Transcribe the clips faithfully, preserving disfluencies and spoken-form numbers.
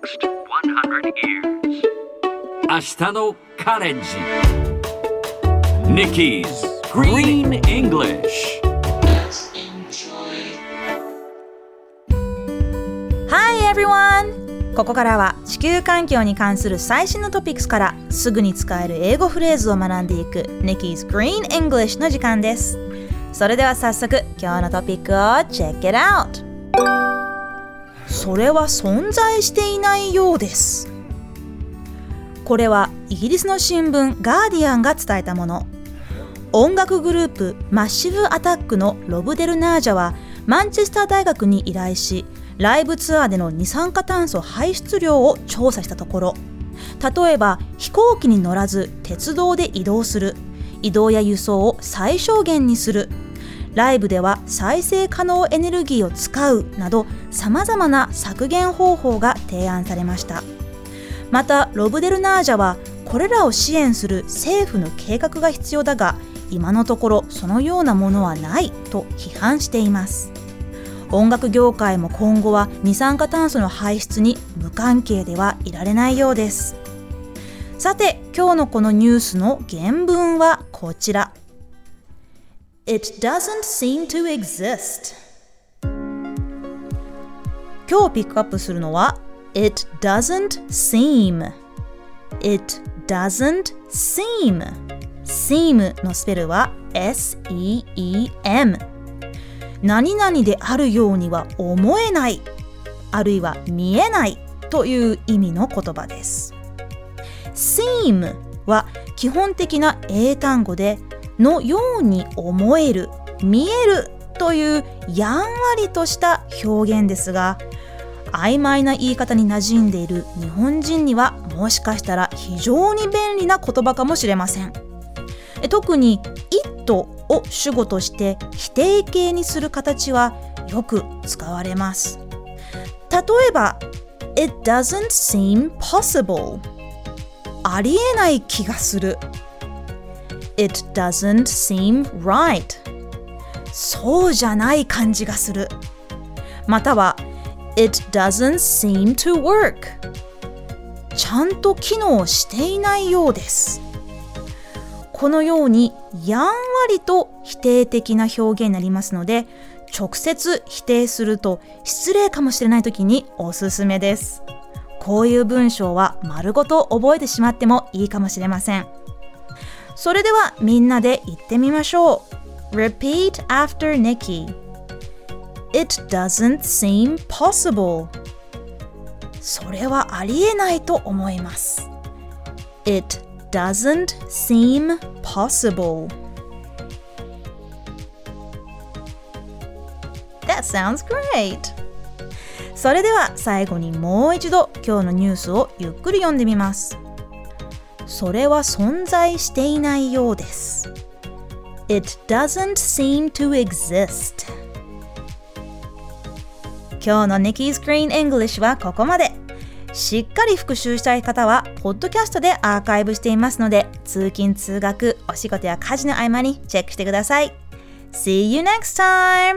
next one hundred years. 明日のカレンジ Nikki's Green English. Hi everyone! ここからは地球環境に関する最新のトピックスからすぐに使える英語フレーズを学んでいく Nikki's Green English の時間です。それでは早速今日のトピックを Check it out! それは存在していないようです。これはイギリスの新聞ガーディアンが伝えたもの。音楽グループマッシブアタックのロブ・デルナージャはマンチェスター大学に依頼し、ライブツアーでの二酸化炭素排出量を調査したところ、例えば飛行機に乗らず鉄道で移動する、移動や輸送を最小限にする、ライブでは再生可能エネルギーを使うなどさまざまな削減方法が提案されました。またロブ・デルナージャはこれらを支援する政府の計画が必要だが、今のところそのようなものはないと批判しています。音楽業界も今後は二酸化炭素の排出に無関係ではいられないようです。さて今日のこのニュースの原文はこちら。 It doesn't seem to exist。 今日ピックアップするのは It doesn't seem It doesn't seem seem のスペルは エスイーイーエム。 何々であるようには思えない、あるいは見えないという意味の言葉です。 seem は基本的な英単語で、のように思える、見えるというやんわりとした表現ですが、曖昧な言い方に馴染んでいる日本人にはもしかしたら非常に便利な言葉かもしれません。特に it を主語として否定形にする形はよく使われます。例えば It doesn't seem possible。 ありえない気がする。 It doesn't seem right。 そうじゃない感じがする。または It doesn't seem to work。 ちゃんと機能していないようです。このようにやんわりと否定的な表現になりますので、直接否定すると失礼かもしれないときにおすすめです。こういう文章は丸ごと覚えてしまってもいいかもしれません。それではみんなで言ってみましょう。 Repeat after Nikki。 It doesn't seem possible。 それはありえないと思います。 It doesn't seem possible。 That sounds great。 それでは最後にもう一度今日のニュースをゆっくり読んでみます。それは存在していないようです。 It doesn't seem to exist。 今日の Nikki's Green English はここまで。しっかり復習したい方はポッドキャストでアーカイブしていますので、通勤通学、お仕事や家事の合間にチェックしてください。 See you next time。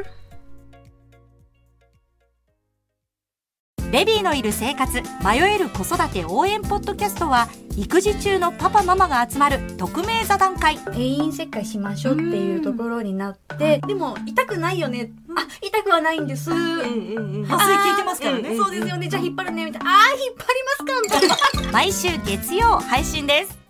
ベビーのいる生活、迷える子育て応援ポッドキャストは、育児中のパパママが集まる匿名座談会。 定員切開しましょうっていうところになって、でも痛くないよね、あ、痛くはないんです、うんうんうん、麻酔効いてますからね、 そうですよね、じゃあ引っ張るねみたいな、あー引っ張りますかみたいな毎週月曜配信です。